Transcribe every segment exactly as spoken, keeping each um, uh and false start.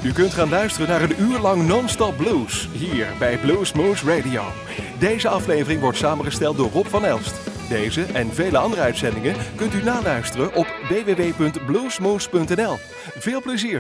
U kunt gaan luisteren naar een uur lang non-stop blues, hier bij Bluesmoose Radio. Deze aflevering wordt samengesteld door Rob van Elst. Deze en vele andere uitzendingen kunt u naluisteren op w w w punt bluesmoose punt n l. Veel plezier!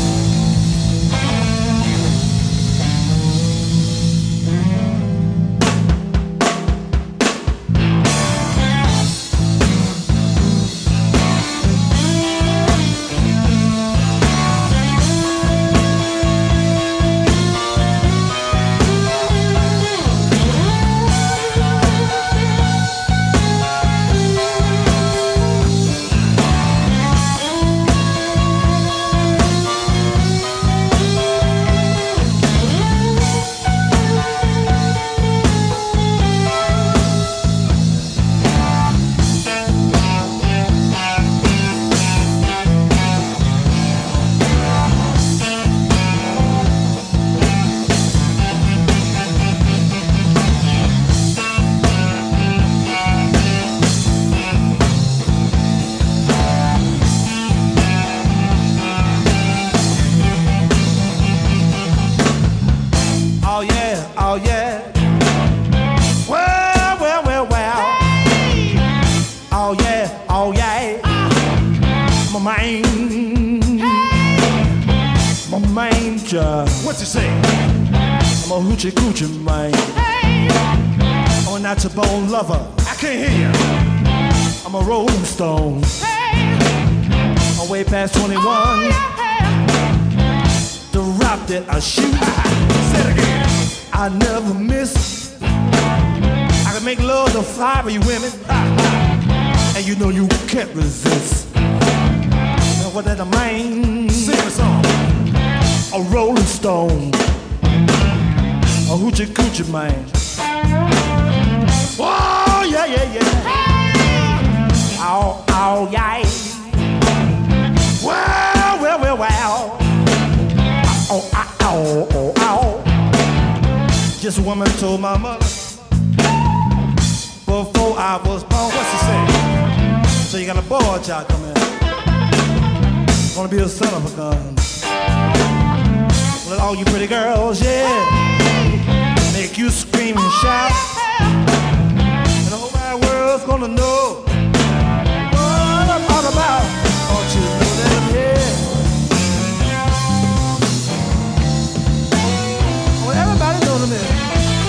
What's he say? I'm a hoochie coochie man. Hey. I'm a natural bone lover. I can't hear you. I'm a rolling stone. Hey. I'm way past twenty-one. Oh, yeah. The rock that I shoot. Say it again. I never miss. I can make love to five of you women. And you know you can't resist. Now what that a man? Sing a song. A rolling stone, a hoochie coochie man. Oh yeah yeah yeah. Oh oh yeah. Well well well well. Oh oh oh oh oh. Just a woman told my mother before I was born. What's she say? So you got a boy child coming. Gonna be a son of a gun. Let all you pretty girls, yeah, make you scream and shout. And the whole wide world's gonna know what I'm all about. Don't you know that I'm here? Well, everybody knows I'm here.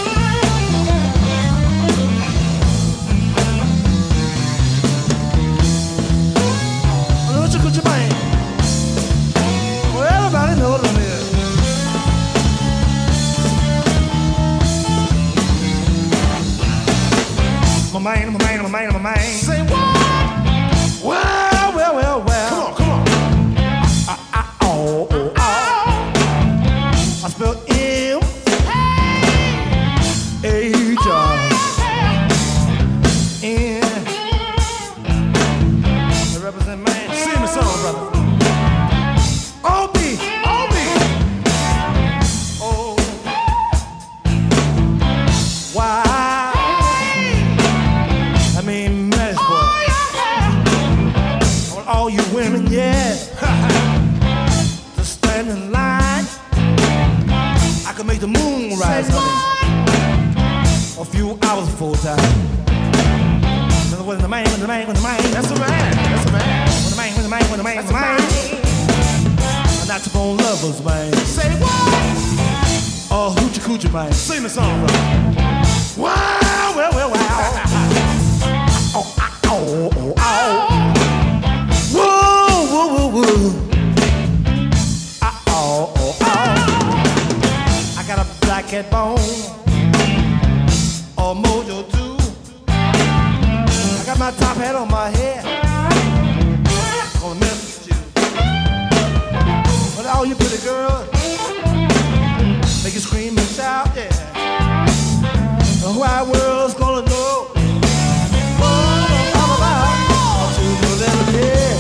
Well, don't you put your mind? Well, everybody knows I'm here. My man, my man, my man, my man. Say what? Well, well, well, well. Come on, come on. I, I, oh, oh, oh. I spell M. Hey. H. N. I represent man. Sing the song, brother. O B. O B. Oh. Why? All you women, yeah, to stand in line. I can make the moon rise, honey, a few hours full time. When the man, when the man, when the man, that's the man, that's the man. When the man, when the man, when the man, that's the man. I'm not your bone lovers, man. Say what? Oh, hoochie coochie, man. Sing the song, bro. Wow, well, well, wow. Oh, oh, oh, oh. Whoa, whoa, whoa, whoa. Ah, oh, oh, oh. I got a black cat bone, a mojo too. I got my top hat on my head. Gonna mess with you. But all you pretty girls, make you scream and shout, yeah. The whole world's gonna know what I'm about. Don't you know that I'm here?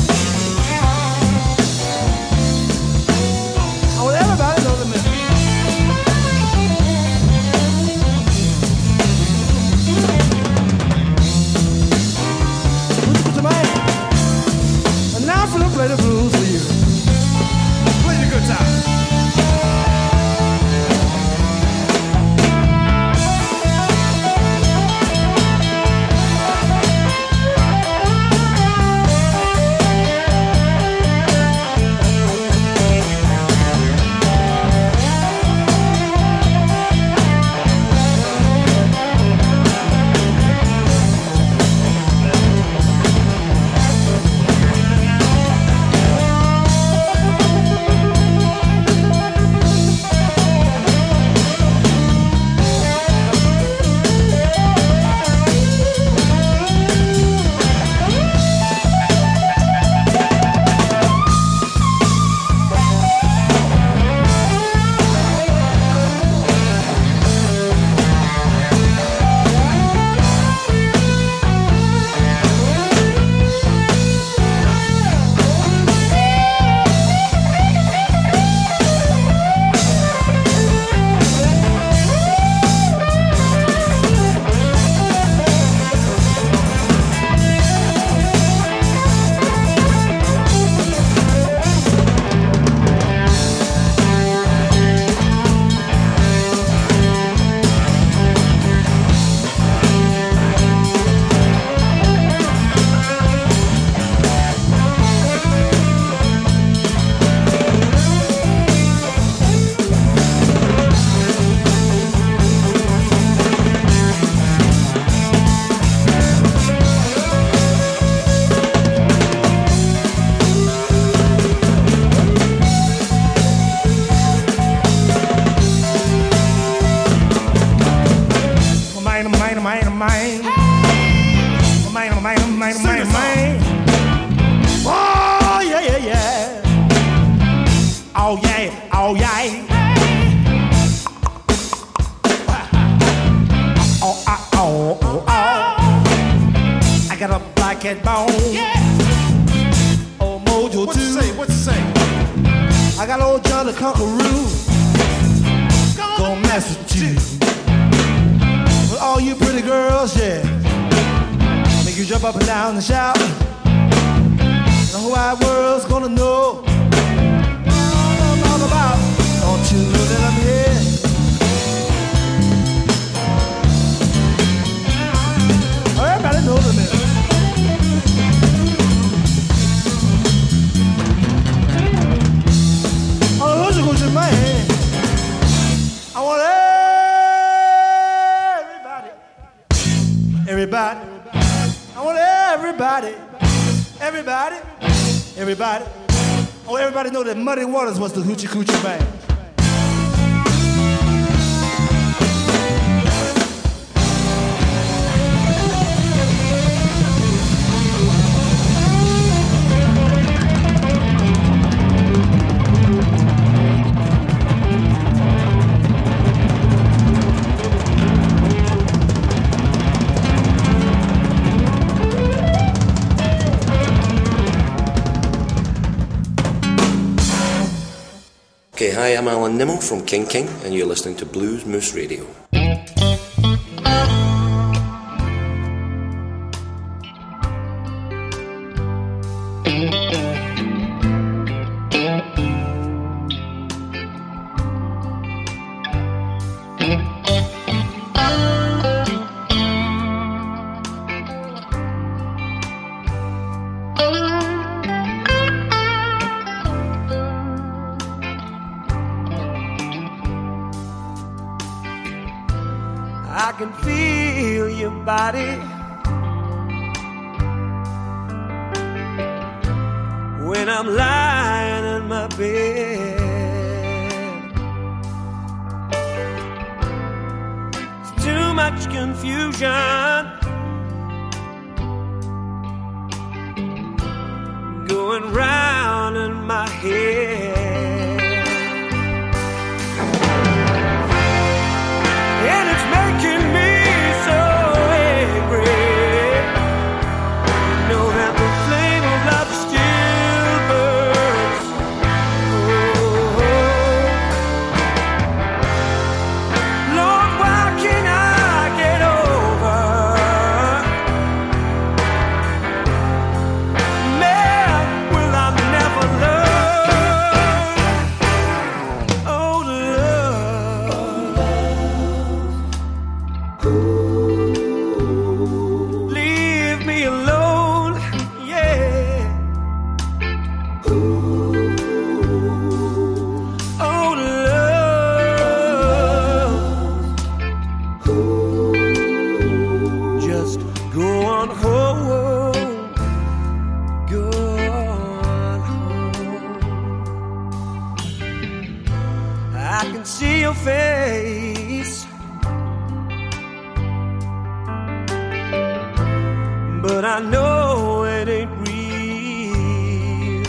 Everybody knows the man. Who's the man? And now I'm gonna play the blues for you. Play the good time. cat bone. Yeah. Old Mojo What too. you say? What you say? I got old John the Conqueror. Gonna mess with you. But all you pretty girls, yeah, make you jump up and down and shout. The whole wide world's gonna know all I'm all about. Don't you know that I'm here? Oh, everybody knows I'm here. Oh, who's a good man? I want everybody, everybody. I want everybody, everybody, everybody. Oh, everybody know that Muddy Waters was the Hoochie Coochie Band. Okay, hi, I'm Alan Nimmo from King King, and you're listening to Blues Moose Radio. I can feel your body when I'm lying in my bed. It's too much confusion going round in my head. And it's making me so angry. Know that the flame of love still burns. Oh, Lord, why can't I get over? Man, will I never learn? Oh, love. Leave me alone, yeah. Oh, love. Just go on home, go on home. I can see your face, but I know it ain't real.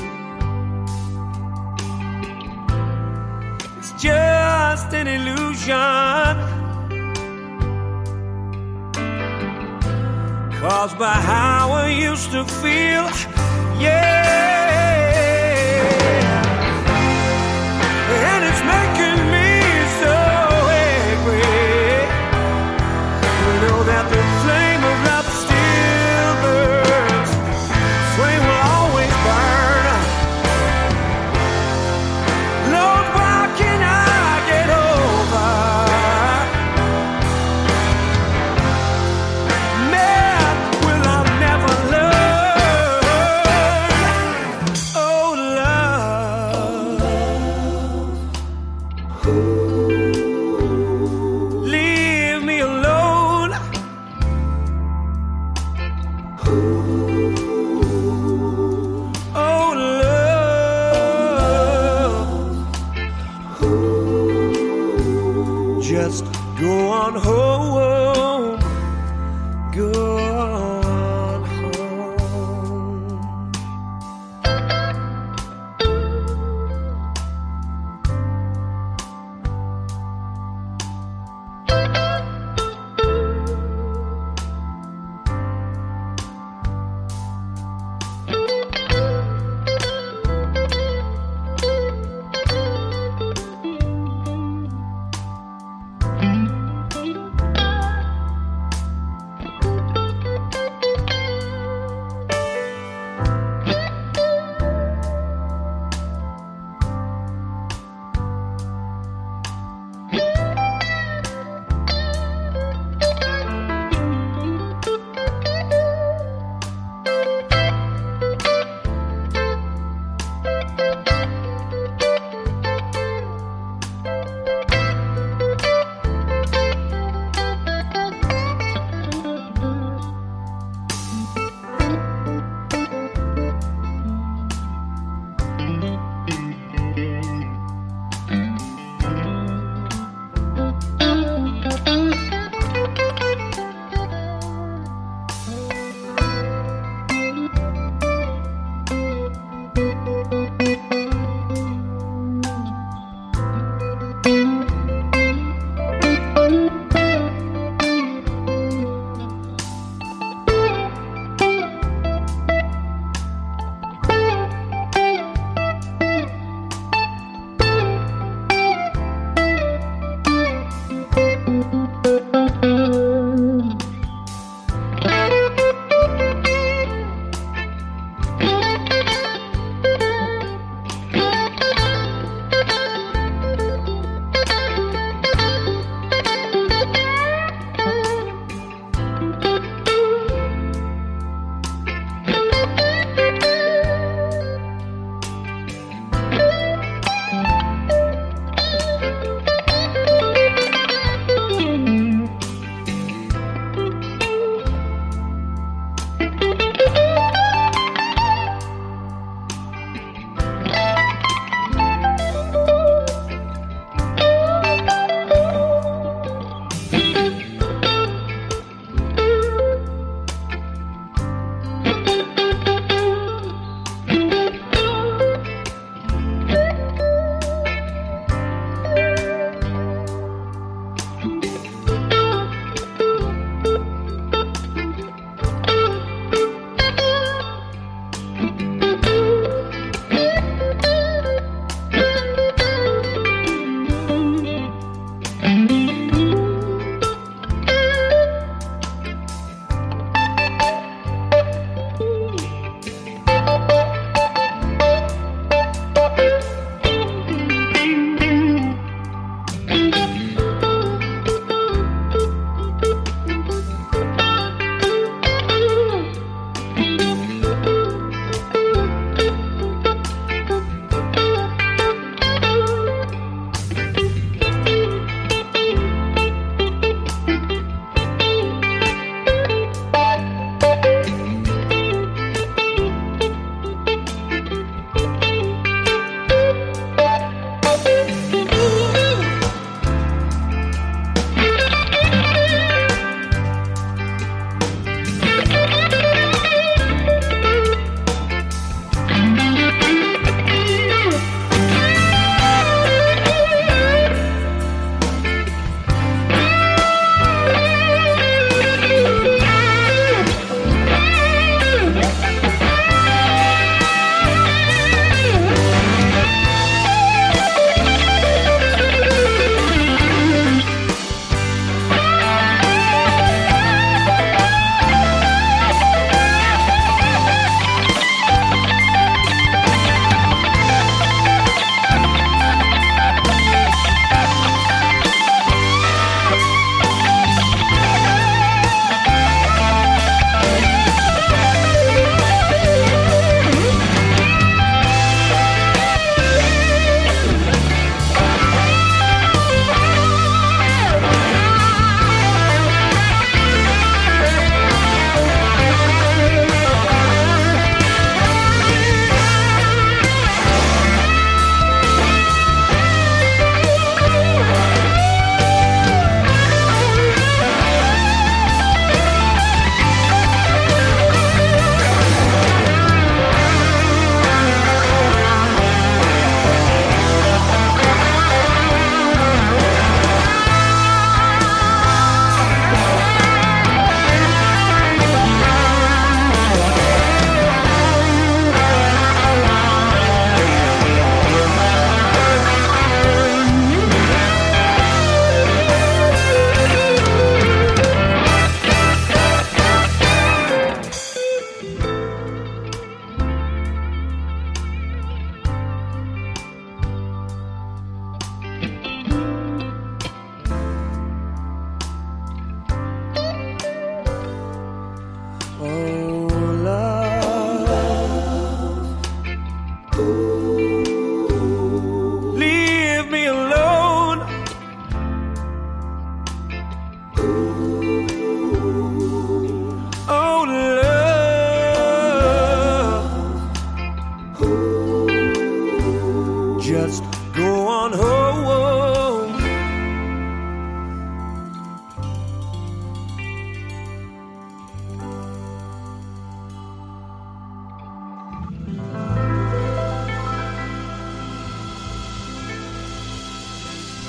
It's just an illusion caused by how I used to feel. Yeah. And it's making me so angry. You know that the flame of love still burns. Flame will always burn. Lord, why can't I get over? Man, will I never learn? Oh, love. Leave me alone. Oh, love. Just go on home. Go on home.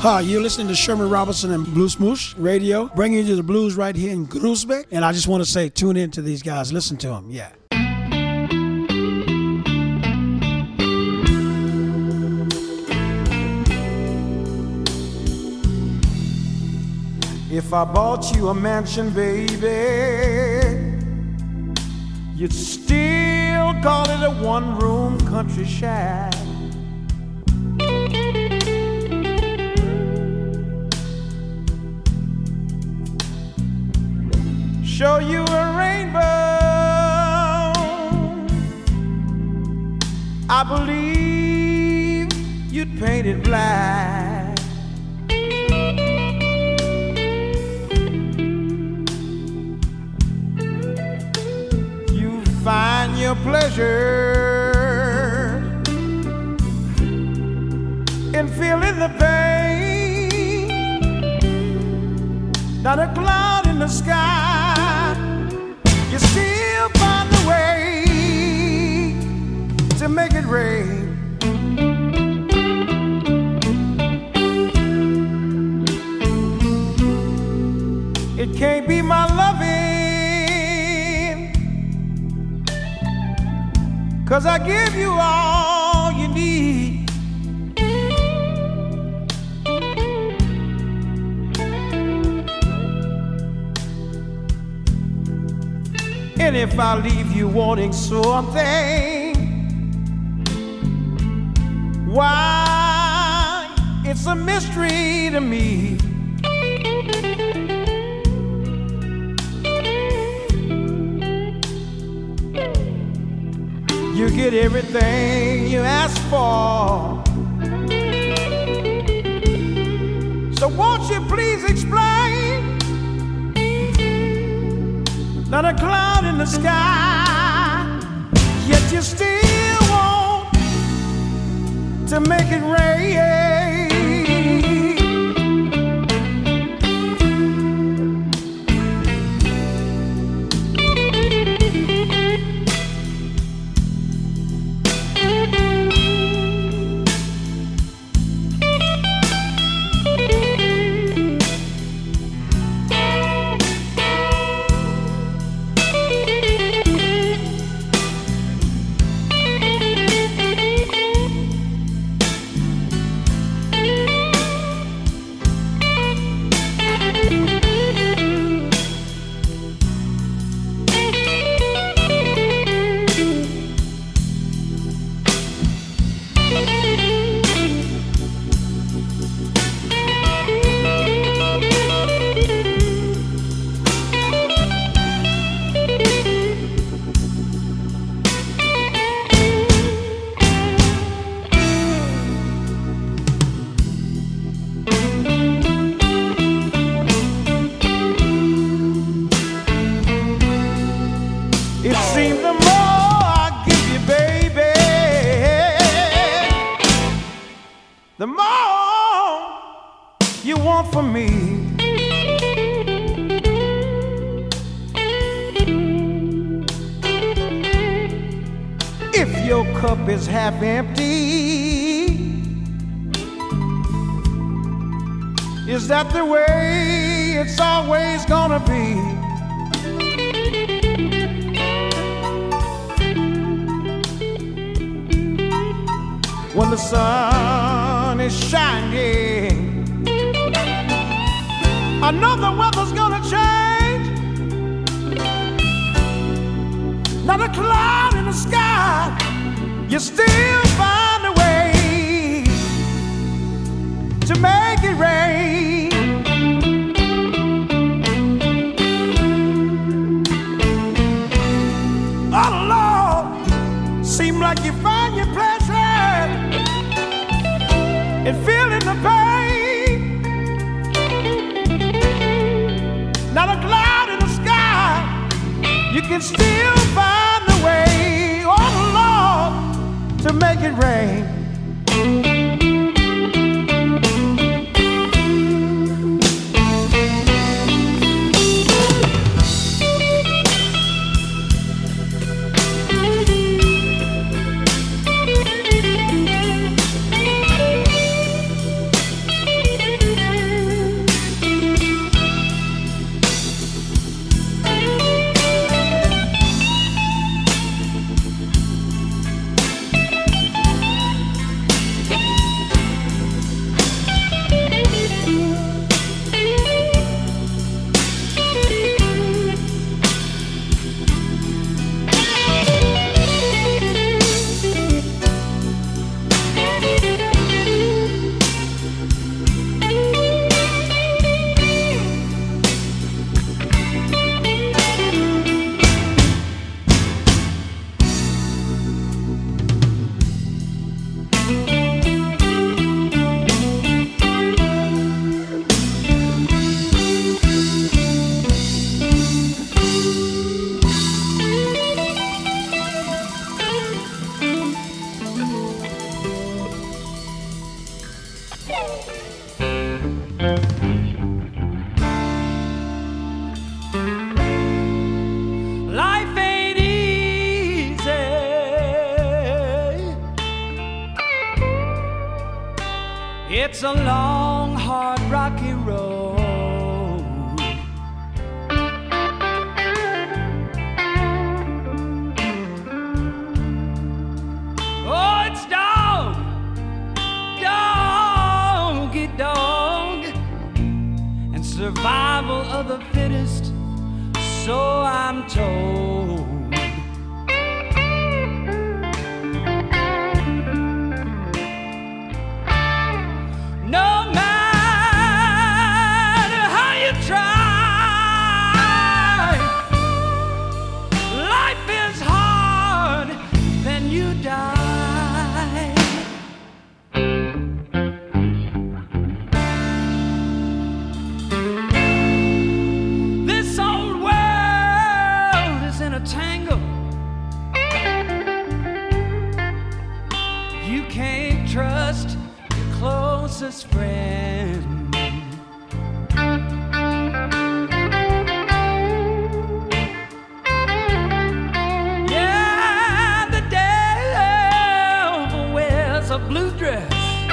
Hi, you're listening to Sherman Robinson and Blues Moose Radio, bringing you the blues right here in Groesbeck. And I just want to say, tune in to these guys. Listen to them. Yeah. If I bought you a mansion, baby, you'd still call it a one-room country shack. Show you a rainbow, I believe you'd paint it black. You find your pleasure in feeling the pain, not a cloud in the sky. You still find a way to make it rain. It can't be my loving, 'cause I give you all you need. And if I leave you wanting something, why, it's a mystery to me. You get everything you ask for, so won't you please explain? Not a cloud in the sky, yet you still want to make it rain. Is half empty. Is that the way it's always gonna be? When the sun is shining, I know the weather's gonna change. Not a cloud in the sky, you still find a way to make it rain. Oh Lord, seem like you find your pleasure in feeling the pain. Not a cloud in the sky, you can still find a way. Oh Lord, to make it rain. It's a long, hard, rocky road. Oh, it's dog, doggy dog, and survival of the fittest, so I'm told. No matter how you try, life is hard, then you die. This old world is in a tangle. You can't trust closest friend. Yeah, the devil wears a blue dress.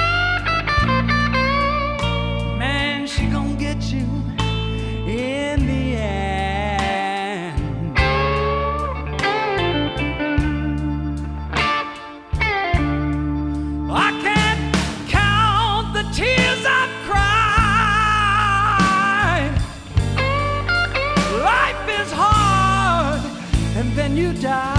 Man, she gon' get you in the end. I can't tears I've cried. Life is hard, and then you die.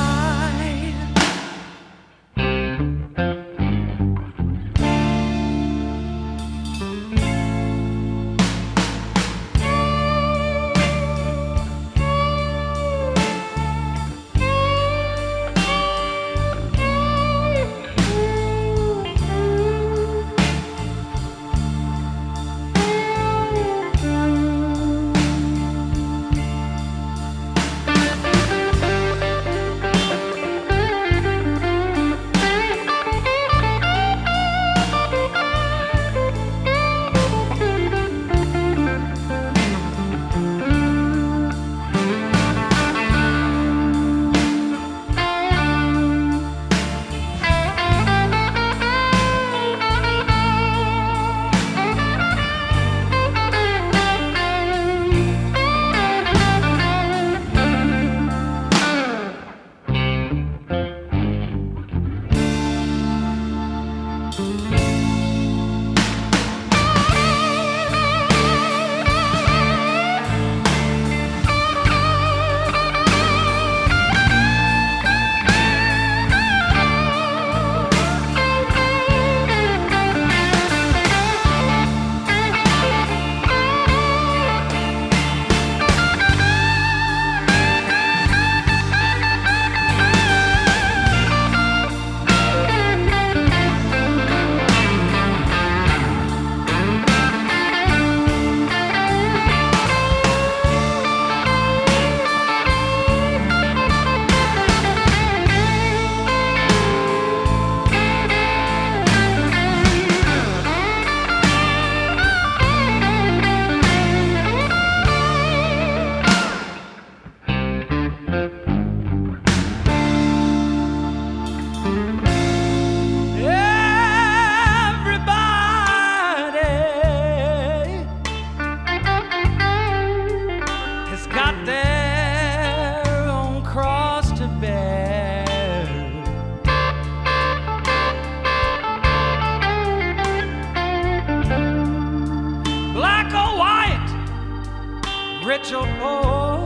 Rich or poor,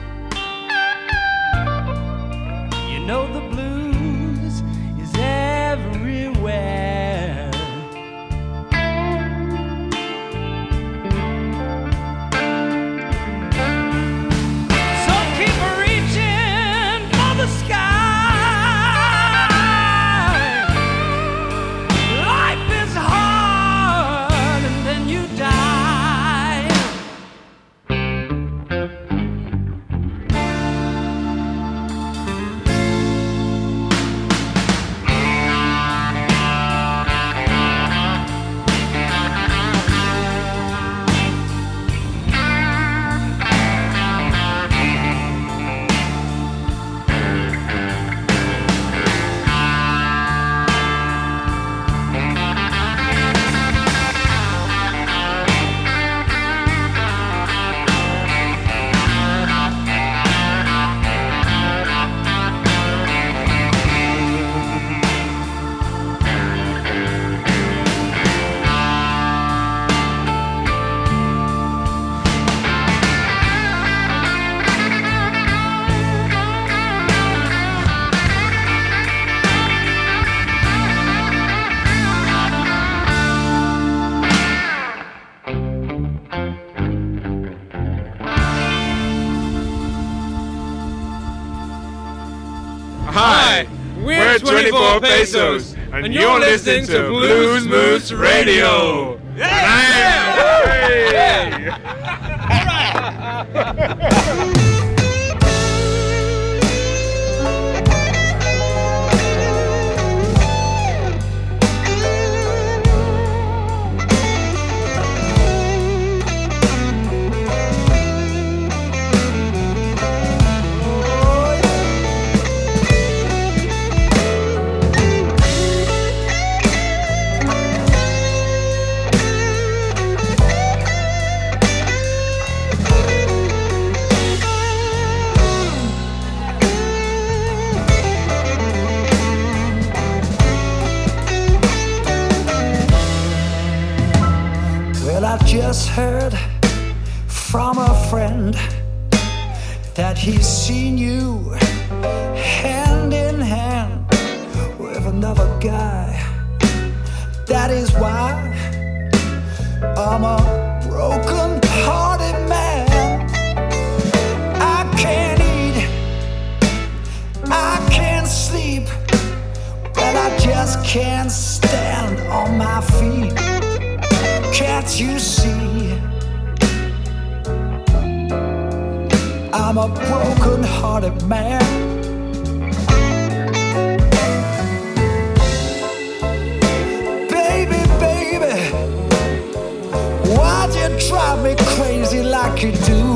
you know the blues is everywhere. So keep reaching for the sky. Life is hard and then you die. We're twenty-four Pesos, and you're listening to Blues Moose Radio. Yeah! Yeah! Yeah! Just heard from a friend that he's seen you hand in hand with another guy. That is why I'm a broken-hearted man. I can't eat, I can't sleep, but I just can't stand on my feet. Can't you see? I'm a broken-hearted man. Baby, baby, why'd you drive me crazy like you do?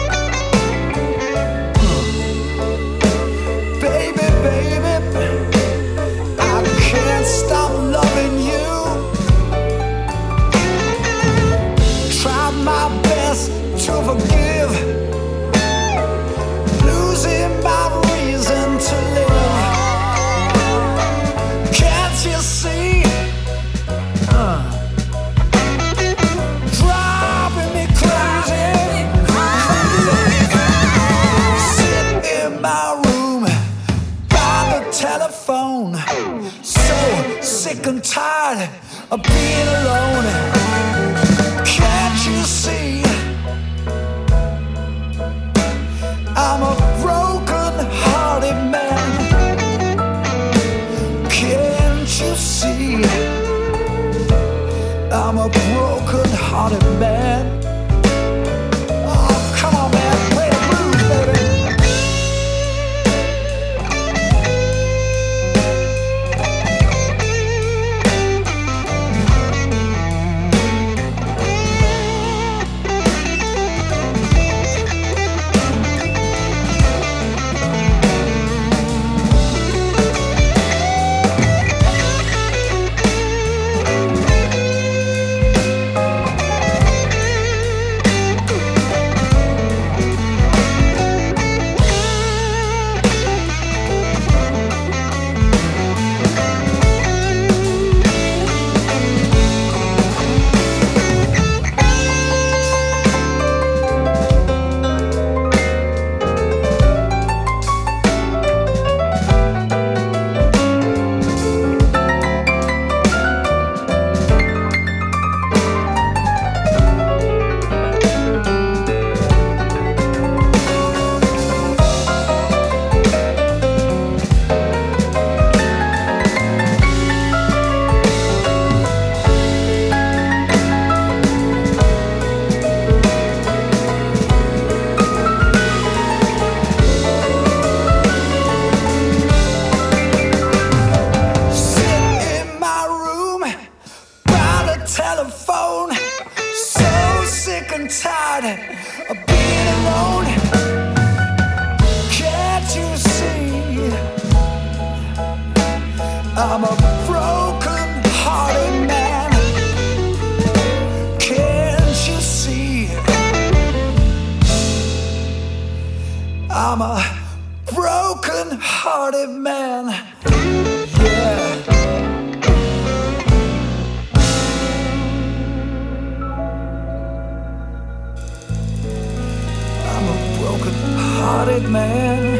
Baby, baby, I can't stop loving you. Tried my best to forgive, losing my reason to live. Can't you see? Uh, driving me crazy. Sit in my room by the telephone, so sick and tired of being alone. Can't you see? I'm a broken-hearted man. Can't you see? I'm a broken-hearted man. Oh, come on, man, play the blues, baby. I'm a broken-hearted man. Can't you see? I'm a broken-hearted man. Yeah. I'm a broken-hearted man.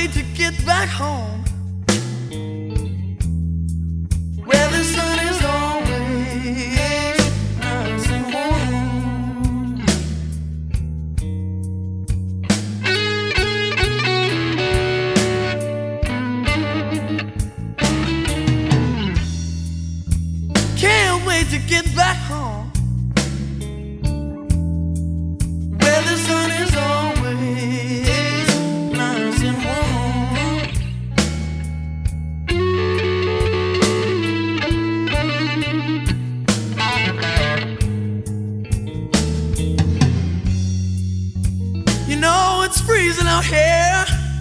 wait to get back home, where the sun is always nice and warm. Can't wait to get back home, where the sun is always nice and warm. You know it's freezing out here,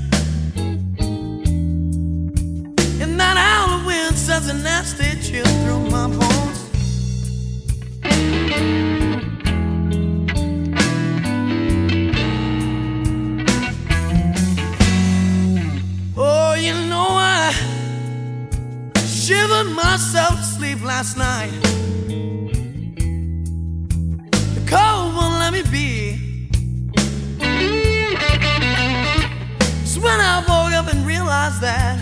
and that howling wind sends a nasty chill through my bones. Oh, you know I shivered myself to sleep last night. The cold won't let me be. So when I woke up and realized that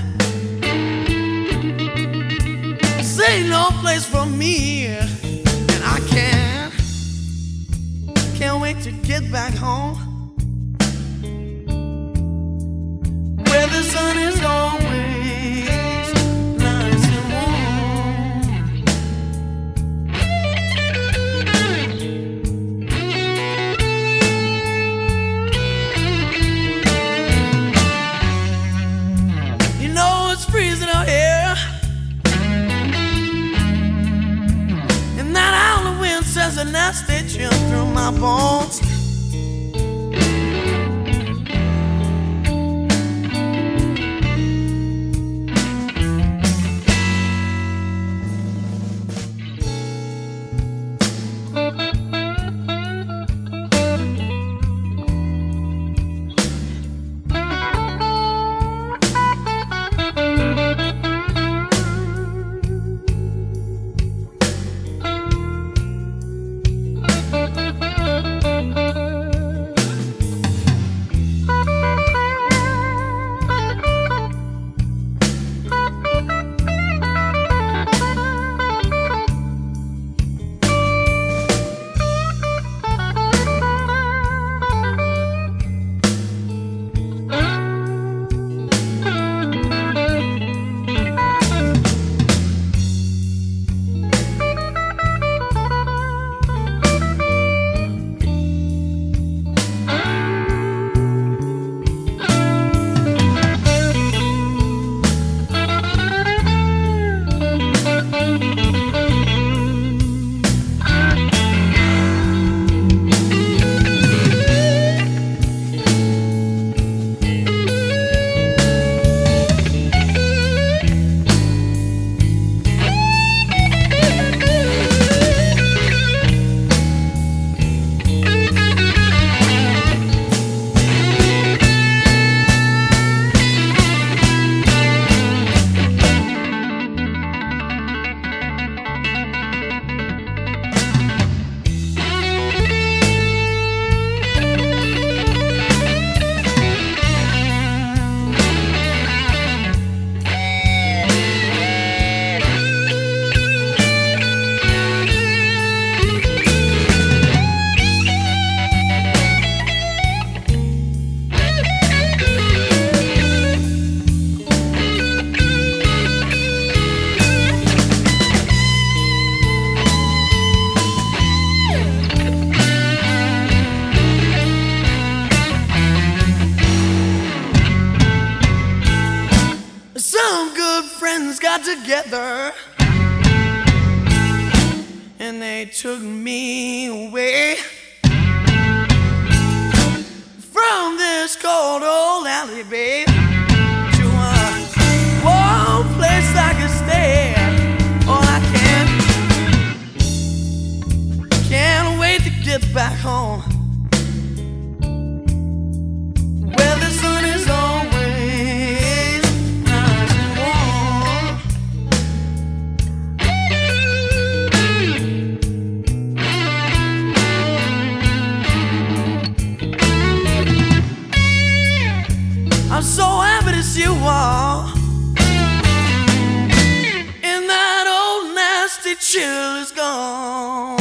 this ain't no place for me, and I can't, can't wait to get back home, where the sun is always nice and warm. You know it's freezing out here, and that howling wind sends a nasty chill through my bones. Together, and they took me away from this cold old alley, babe, to a warm place I could stay. Oh, I can't, can't wait to get back home, where the sun is always nice and warm. I'm so happy to see you all. And that old nasty chill is gone.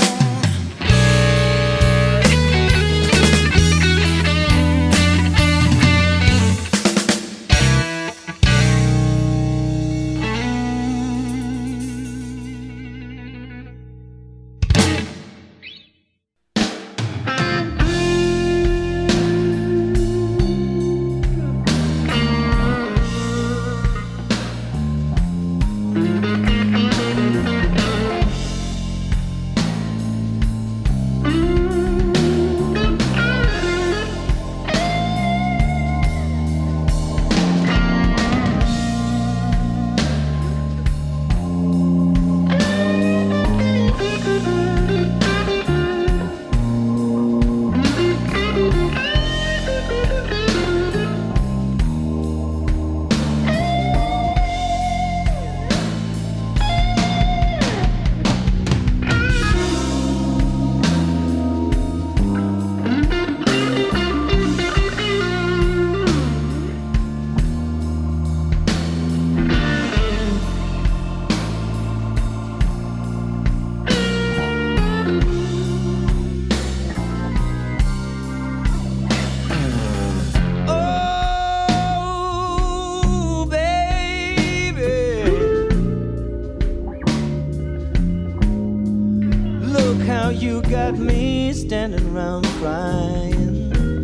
Standing around crying.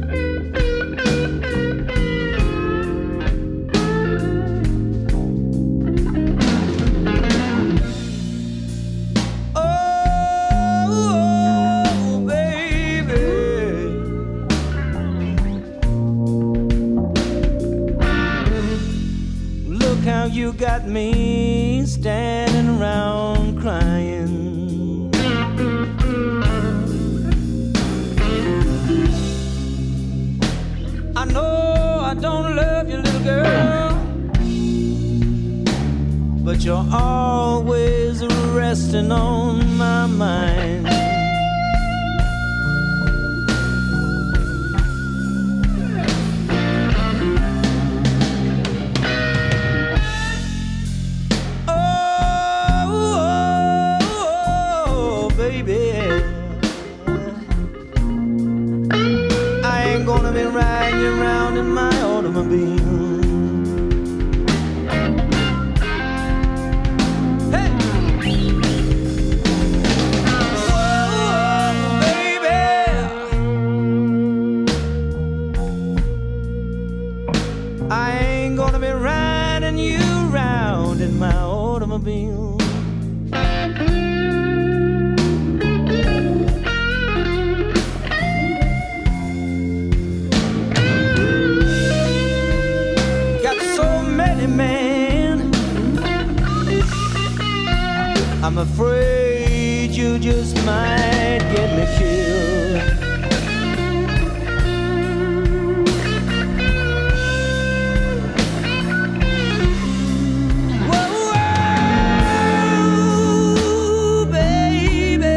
Oh, baby, look how you got me standing around crying. I know I don't love you, little girl, but you're always resting on my mind. Oh, oh, oh, baby, I ain't gonna be riding you around in my automobile. Hey! Whoa, baby, I ain't gonna be riding you around in my automobile. I'm afraid you just might get me killed. Whoa, whoa, baby,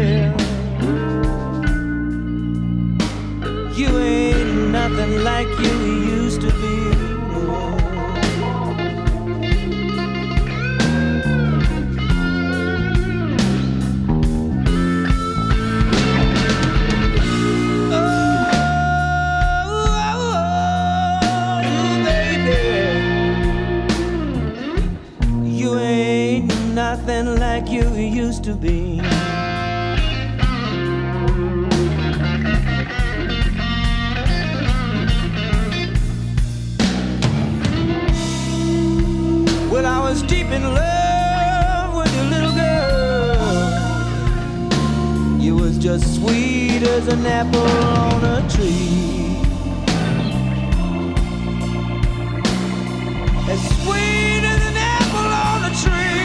you ain't nothing like you used to be. Nothing like you used to be. Well, I was deep in love with you, little girl. You was just sweet as an apple on a tree. As sweet as an apple on a tree.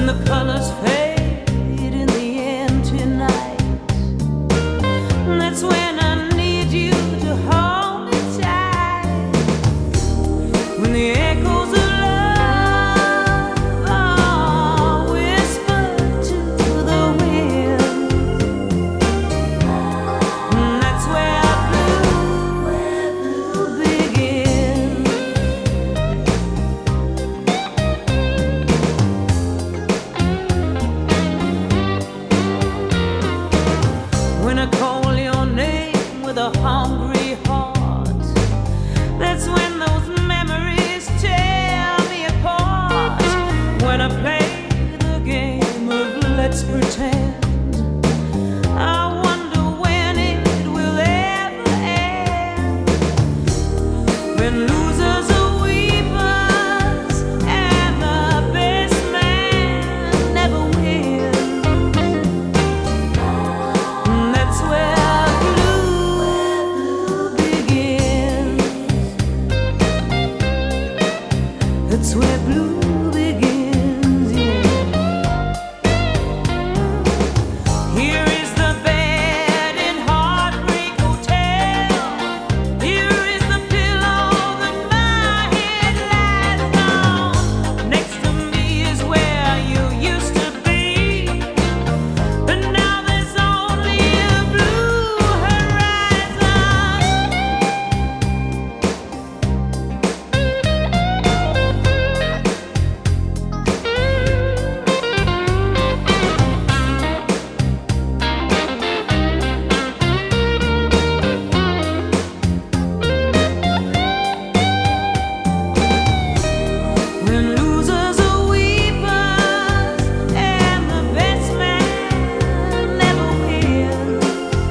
when the colors fade in the empty night. That's when I need you to hold me tight. When the echoes of love are whispered to the wind, that's where blue begins. When I call your name with a hungry heart, that's when those memories tear me apart. When I play the game of let's pretend, I wonder when it will ever end. When losers are weepers and the best man never wins, that's where blue begins. That's where blue begins, yeah. Here is the bed in Heartbreak Hotel. Here is the pillow that my head lies on. Next to me is where you used to be, but now there's only a blue horizon. When losers are weepers and the best man never wins,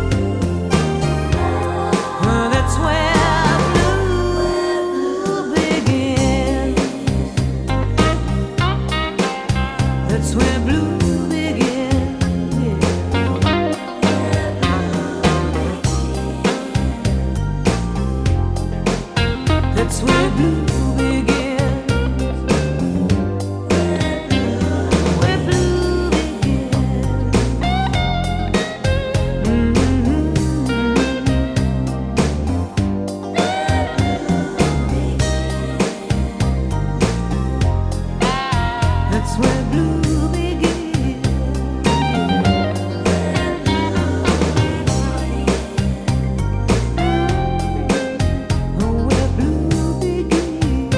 that's where blue begins. That's where blue begins, yeah. That's where blue begins. Where blue begins. Mm-hmm. That's where blue begins. Oh, where blue begins.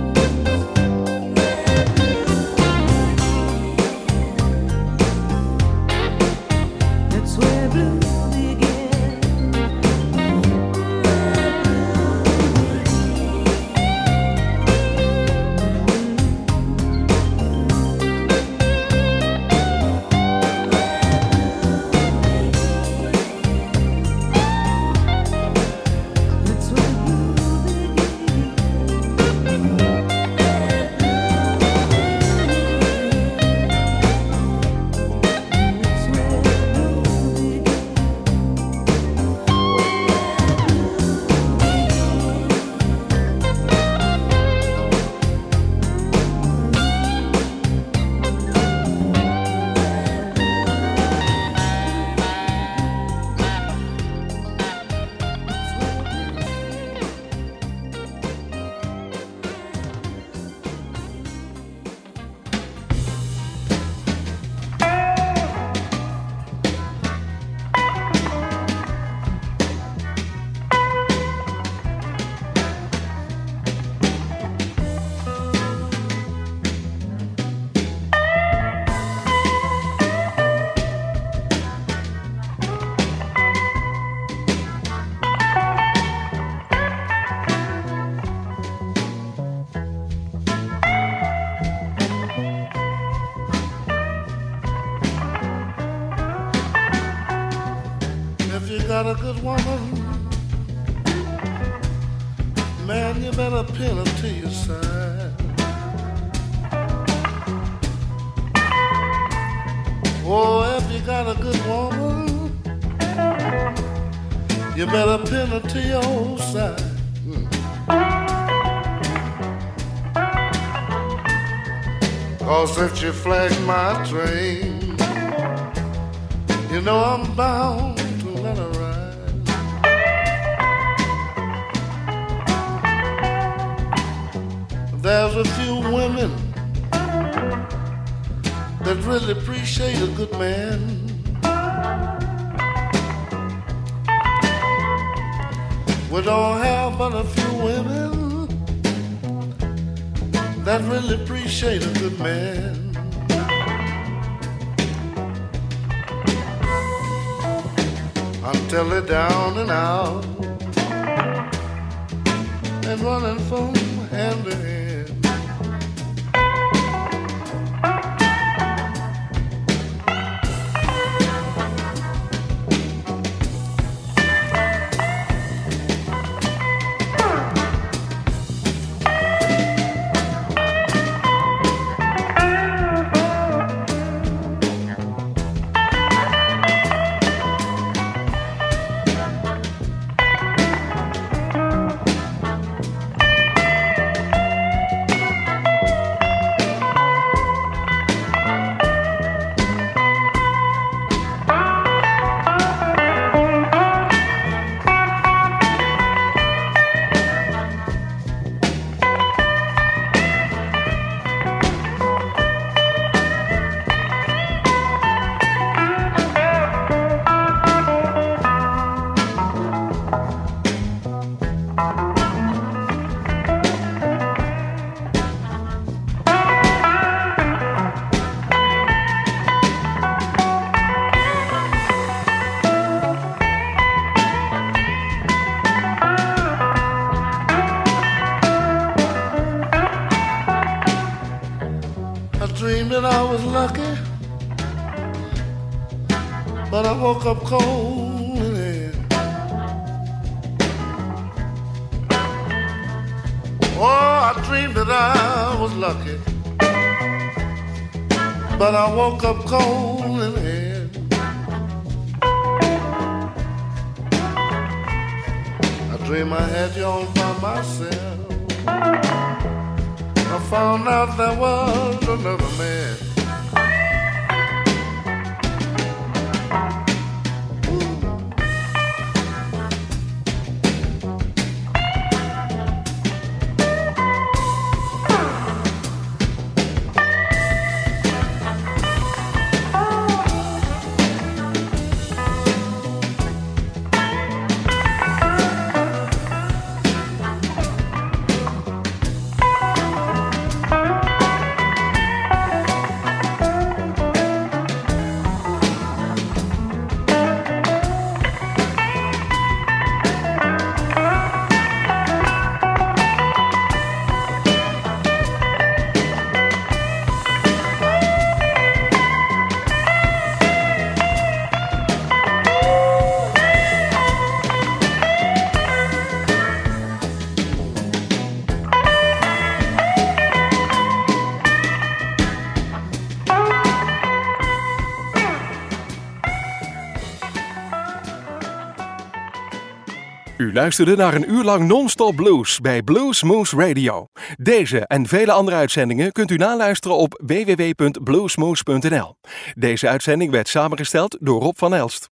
That's where blue begins. That's where blue begins. That's where blue If you got a good woman, man, you better pin her to your side. Oh, if you got a good woman, you better pin her to your side. Mm. 'cause if you flag my train, you know I'm bound to let her ride. There's a few women that really appreciate a good man. We don't have but a few women that really appreciate a good man. Until they're down and out and running from hand to hand. Dreamed that I was lucky, but I woke up cold in the head. Oh, I dreamed that I was lucky, but I woke up cold in the head. I dreamed I had you all by myself. I found out there was another man. U luisterde naar een uur lang non-stop blues bij Blues Moose Radio. Deze en vele andere uitzendingen kunt u naluisteren op w w w punt bluesmoose punt n l. Deze uitzending werd samengesteld door Rob van Elst.